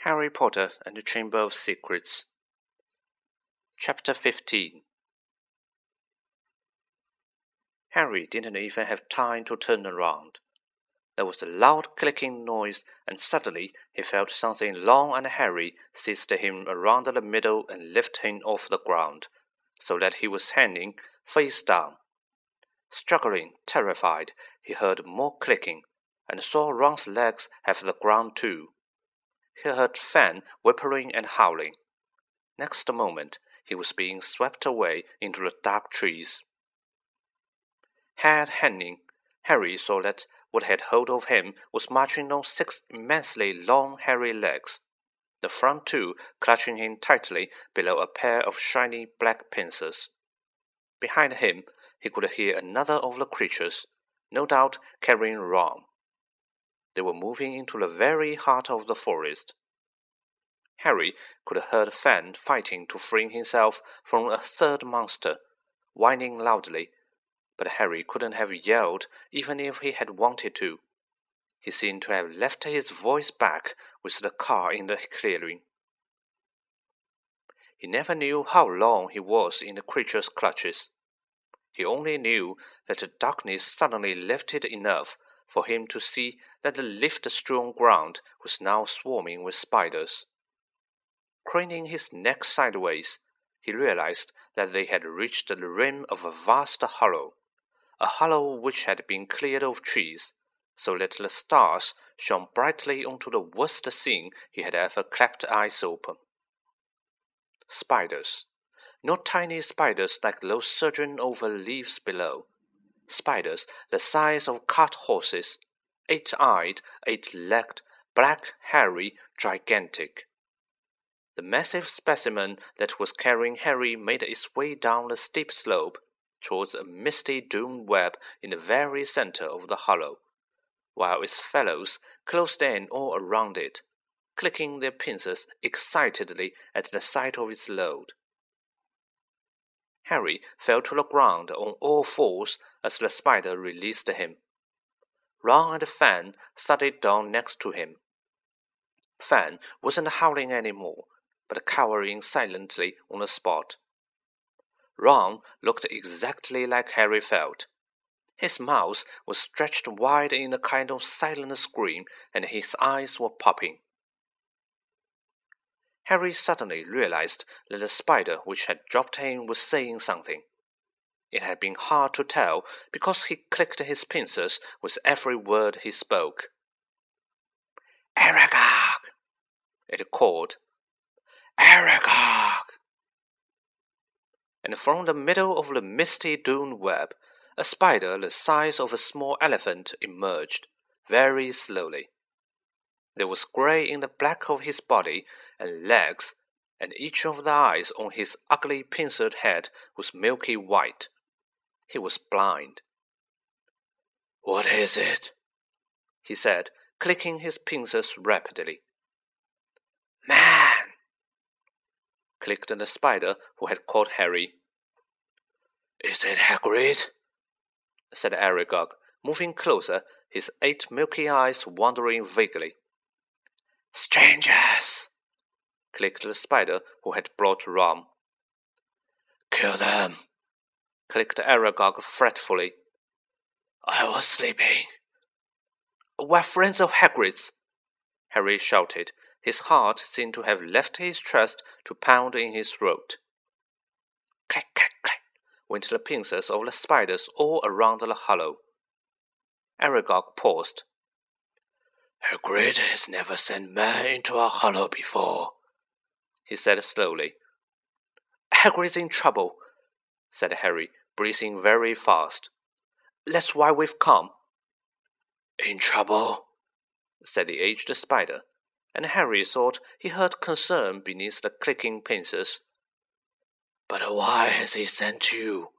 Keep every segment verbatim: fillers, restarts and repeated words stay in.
Harry Potter and the Chamber of Secrets. Chapter fifteen. Harry didn't even have time to turn around. There was a loud clicking noise, and suddenly he felt something long and hairy seized him around the middle and lift him off the ground, so that he was hanging face down. Struggling, terrified, he heard more clicking, and saw Ron's legs have the ground too. He heard Fan whimpering and howling. Next moment, he was being swept away into the dark trees. Head hanging, Harry saw that what had hold of him was marching on six immensely long, hairy legs, the front two clutching him tightly below a pair of shiny black pincers. Behind him, he could hear another of the creatures, no doubt carrying Ron. They were moving into the very heart of the forest. Harry could have heard Fan fighting to free himself from a third monster, whining loudly, but Harry couldn't have yelled even if he had wanted to. He seemed to have left his voice back with the car in the clearing. He never knew how long he was in the creature's clutches. He only knew that the darkness suddenly lifted enough for him to see that the leaf-strewn ground was now swarming with spiders. Craning his neck sideways, he realized that they had reached the rim of a vast hollow, a hollow which had been cleared of trees, so that the stars shone brightly onto the worst scene he had ever cracked eyes open. Spiders. Not tiny spiders like those surging over leaves below. Spiders the size of cart horses, eight-eyed, eight-legged, black, hairy, gigantic. The massive specimen that was carrying Harry made its way down the steep slope towards a misty doom web in the very center of the hollow, while its fellows closed in all around it, clicking their pincers excitedly at the sight of its load. Harry fell to the ground on all fours as the spider released him. Ron and Fan thudded down next to him. Fan wasn't howling any more, but cowering silently on the spot. Ron looked exactly like Harry felt. His mouth was stretched wide in a kind of silent scream, and his eyes were popping. Harry suddenly realized that the spider which had dropped him was saying something. It had been hard to tell because he clicked his pincers with every word he spoke. "Aragog!" it called. "Aragog!" And from the middle of the misty dune web, a spider the size of a small elephant emerged, very slowly. There was grey in the black of his body and legs, and each of the eyes on his ugly pincered head was milky white. He was blind. "What is it?" he said, clicking his pincers rapidly. "Man!" clicked the spider who had caught Harry. "Is it Hagrid?" said Aragog, moving closer, his eight milky eyes wandering vaguely. "Strangers!" clicked the spider who had brought Ron. "Kill them!" clicked Aragog fretfully. "I was sleeping." "We're friends of Hagrid's," Harry shouted. His heart seemed to have left his chest to pound in his throat. Click, click, click, went the pincers of the spiders all around the hollow. Aragog paused. "Hagrid has never sent men into a hollow before," he said slowly. "Hagrid's in trouble," said Harry, breathing very fast. "That's why we've come." "In trouble?" said the aged spider, and Harry thought he heard concern beneath the clicking pincers. "But why has he sent you?"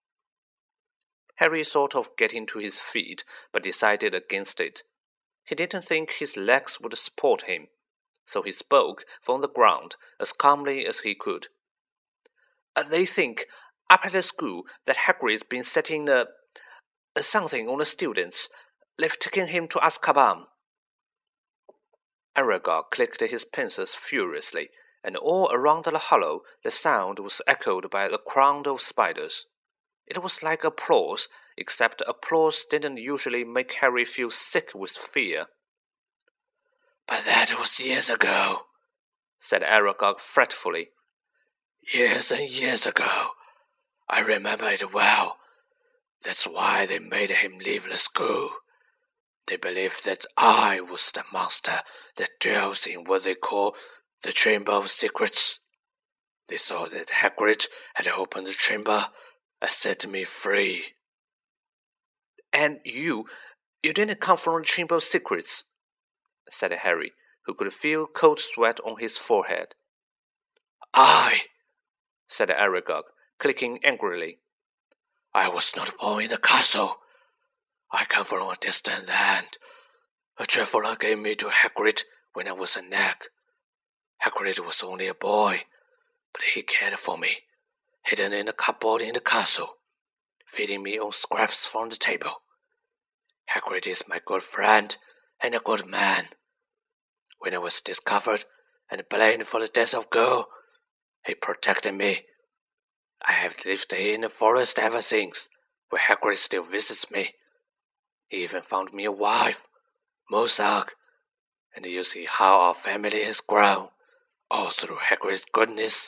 Harry thought of getting to his feet, but decided against it. He didn't think his legs would support him, so he spoke from the ground as calmly as he could. "They think, up at the school, that Hagrid's been setting a, a something on the students. They've taken him to Azkaban." Aragog clicked his pincers furiously, and all around the hollow the sound was echoed by a crowd of spiders. It was like applause, except applause didn't usually make Harry feel sick with fear. "But that was years ago," said Aragog fretfully. "Years and years ago. I remember it well. That's why they made him leave the school. They believed that I was the monster that dwells in what they call the Chamber of Secrets. They thought that Hagrid had opened the chamber and set me free." "And you, you didn't come from the Chamber of Secrets," said Harry, who could feel cold sweat on his forehead. "I," said Aragog, clicking angrily. "I was not born in the castle. I come from a distant land. A traveler gave me to Hagrid when I was a nag. Hagrid was only a boy, but he cared for me, hidden in a cupboard in the castle, feeding me on scraps from the table. Hagrid is my good friend and a good man. When I was discovered and blamed for the death of Go, he protected me. I have lived in the forest ever since, where Hagrid still visits me. He even found me a wife, Mozart, and you see how our family has grown, all through Hagrid's goodness."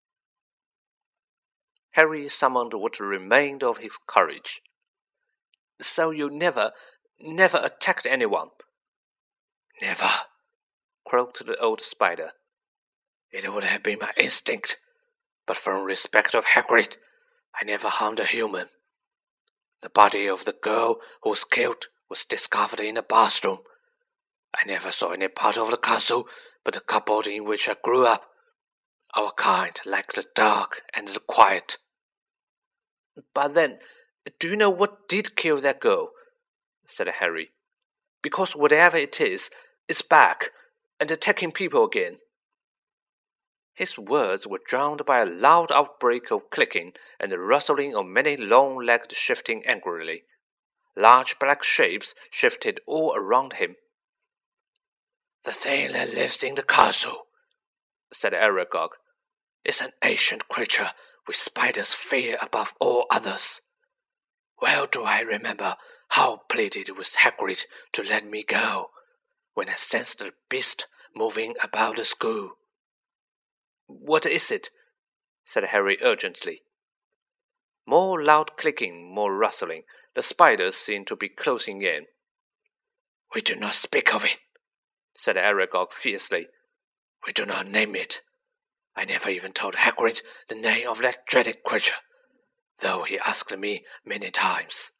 Harry summoned what remained of his courage. "So you never, never attacked anyone?" "Never," croaked the old spider. "It would have been my instinct, but from respect of Hagrid, I never harmed a human. The body of the girl who was killed was discovered in the bathroom. I never saw any part of the castle but the cupboard in which I grew up. Our kind like the dark and the quiet." "But then, do you know what did kill that girl?" said Harry. "Because whatever it is, it's back, and attacking people again." His words were drowned by a loud outbreak of clicking and the rustling of many long legs shifting angrily. Large black shapes shifted all around him. "The thing that lives in the castle," said Aragog, "is an ancient creature which spiders fear above all others. Well do I remember how I pleaded with Hagrid to let me go, when I sensed the beast moving about the school." "What is it?" said Harry urgently. More loud clicking, more rustling. The spiders seemed to be closing in. "We do not speak of it," said Aragog fiercely. "We do not name it. I never even told Hagrid the name of that dreaded creature, though he asked me many times."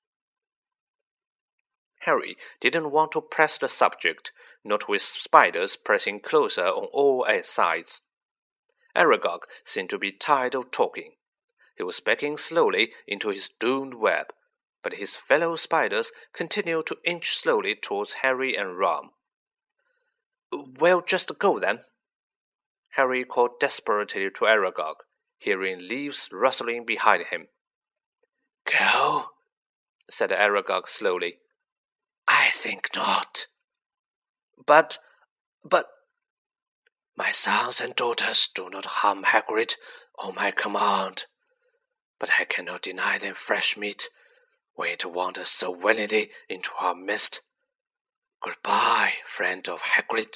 Harry didn't want to press the subject, not with spiders pressing closer on all sides. Aragog seemed to be tired of talking. He was backing slowly into his doomed web, but his fellow spiders continued to inch slowly towards Harry and Ron. "Well, just go then," Harry called desperately to Aragog, hearing leaves rustling behind him. "Go?" said Aragog slowly. "I think not." But, but... "My sons and daughters do not harm Hagrid on my command, but I cannot deny them fresh meat when it wanders so willingly into our midst. Goodbye, friend of Hagrid."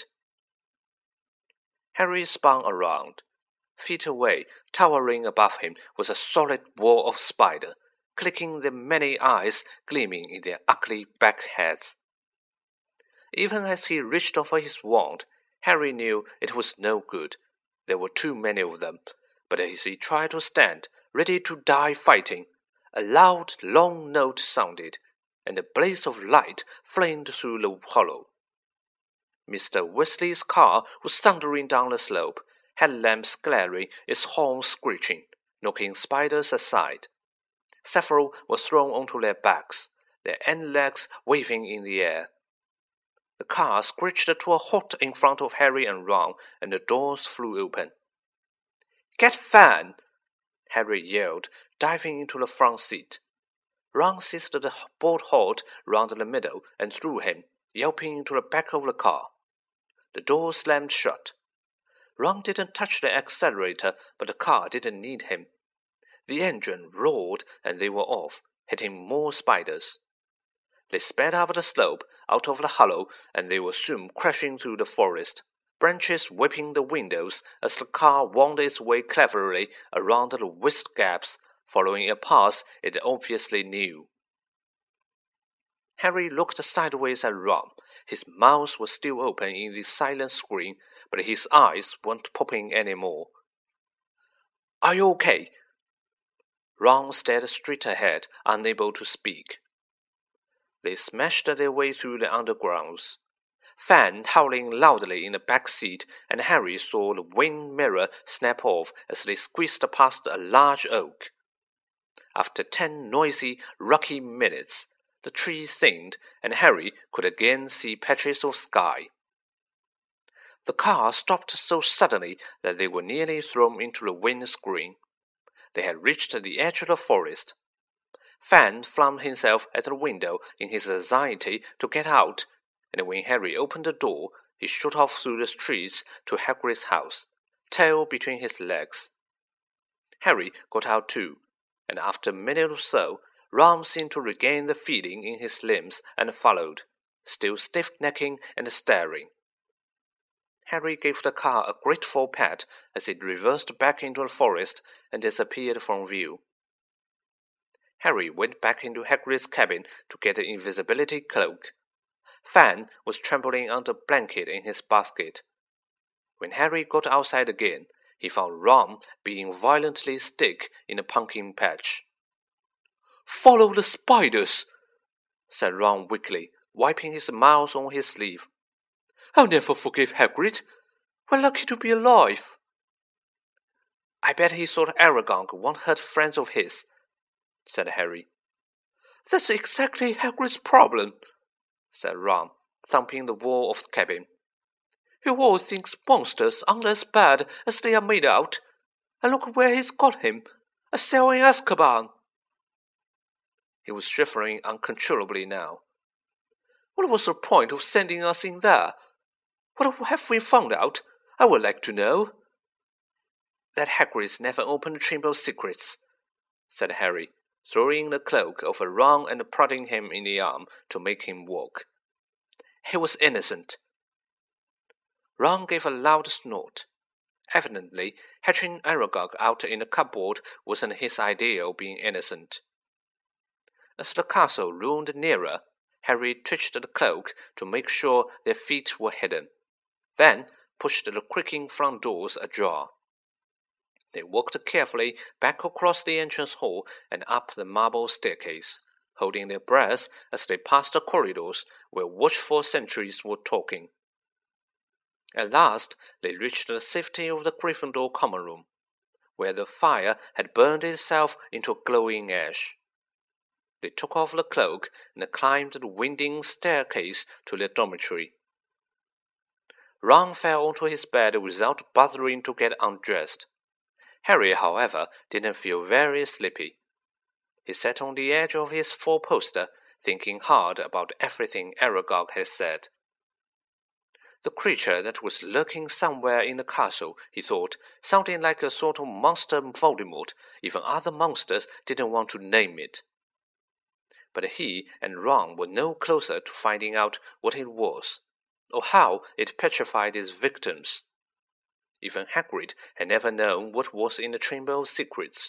Harry spun around. Feet away, towering above him, was a solid wall of spider, clicking their many eyes gleaming in their ugly back heads. Even as he reached for his wand, Harry knew it was no good. There were too many of them, but as he tried to stand, ready to die fighting, a loud, long note sounded, and a blaze of light flamed through the hollow. Mister Weasley's car was thundering down the slope, headlamps glaring, its horn screeching, knocking spiders aside. Several were thrown onto their backs, their end legs waving in the air. The car screeched to a halt in front of Harry and Ron, and the doors flew open. "Get Fan!" Harry yelled, diving into the front seat. Ron seized the bolt hold round the middle and threw him, yelping into the back of the car. The door slammed shut. Ron didn't touch the accelerator, but the car didn't need him. The engine roared and they were off, hitting more spiders. They sped up the slope, out of the hollow, and they were soon crashing through the forest, branches whipping the windows as the car wound its way cleverly around the whist gaps, following a path it obviously knew. Harry looked sideways at Ron. His mouth was still open in the silent scream, but his eyes weren't popping any more. "Are you okay?" Ron stared straight ahead, unable to speak. They smashed their way through the undergrounds. Fan howling loudly in the back seat, and Harry saw the wind mirror snap off as they squeezed past a large oak. After ten noisy, rocky minutes, the tree thinned, and Harry could again see patches of sky. The car stopped so suddenly that they were nearly thrown into the windscreen. They had reached the edge of the forest. Fan flung himself at the window in his anxiety to get out, and when Harry opened the door, he shot off through the streets to Hagrid's house, tail between his legs. Harry got out too, and after a minute or so, Ron seemed to regain the feeling in his limbs and followed, still stiff-necking and staring. Harry gave the car a grateful pat as it reversed back into the forest and disappeared from view. Harry went back into Hagrid's cabin to get the invisibility cloak. Fan was trembling on the blanket in his basket. When Harry got outside again, he found Ron being violently stick in a pumpkin patch. "Follow the spiders," said Ron weakly, wiping his mouth on his sleeve. "I'll never forgive Hagrid. We're lucky to be alive." "I bet he thought Aragog won't hurt friends of his," said Harry. "That's exactly Hagrid's problem," said Ron, thumping the wall of the cabin. "He always thinks monsters aren't as bad as they are made out. And look where he's got him, a cell in Azkaban." He was shivering uncontrollably now. "What was the point of sending us in there? What have we found out? I would like to know." "That Hagrid's never opened the Chamber of Secrets," said Harry, throwing the cloak over Ron and prodding him in the arm to make him walk. "He was innocent." Ron gave a loud snort. Evidently, hatching Aragog out in the cupboard wasn't his idea of being innocent. As the castle loomed nearer, Harry twitched the cloak to make sure their feet were hidden, then pushed the creaking front doors ajar. They walked carefully back across the entrance hall and up the marble staircase, holding their breath as they passed the corridors where watchful sentries were talking. At last, they reached the safety of the Gryffindor common room, where the fire had burned itself into a glowing ash. They took off the cloak and climbed the winding staircase to their dormitory. Ron fell onto his bed without bothering to get undressed. Harry, however, didn't feel very sleepy. He sat on the edge of his four-poster, thinking hard about everything Aragog had said. The creature that was lurking somewhere in the castle, he thought, sounded like a sort of monster Voldemort, even other monsters didn't want to name it. But he and Ron were no closer to finding out what it was, or how it petrified its victims. Even Hagrid had never known what was in the Chamber of Secrets.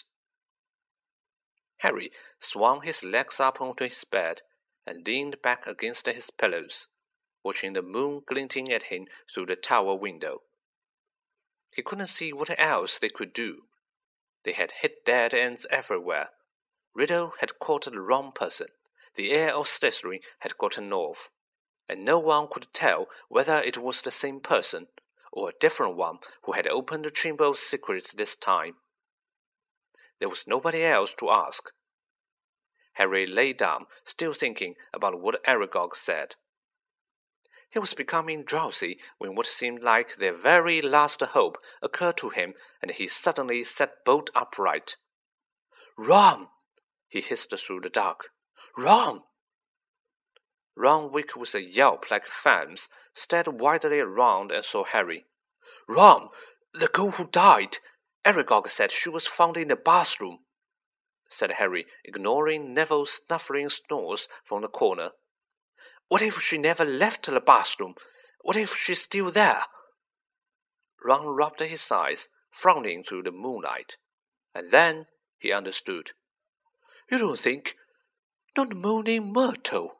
Harry swung his legs up onto his bed and leaned back against his pillows, watching the moon glinting at him through the tower window. He couldn't see what else they could do. They had hit dead ends everywhere. Riddle had caught the wrong person. The heir of Slytherin had gotten off, and no one could tell whether it was the same person or a different one who had opened the Chamber of Secrets this time. There was nobody else to ask. Harry lay down, still thinking about what Aragog said. He was becoming drowsy when what seemed like their very last hope occurred to him, and he suddenly sat bolt upright. "Ron!" he hissed through the dark. "Ron!" Ron, weak with a yelp like Fam's, stared widely around and saw Harry. "Ron, the girl who died. Aragog said she was found in the bathroom," said Harry, ignoring Neville's snuffling snores from the corner. "What if she never left the bathroom? What if she's still there?" Ron rubbed his eyes, frowning through the moonlight. And then he understood. "You don't think... Not Moaning Myrtle?"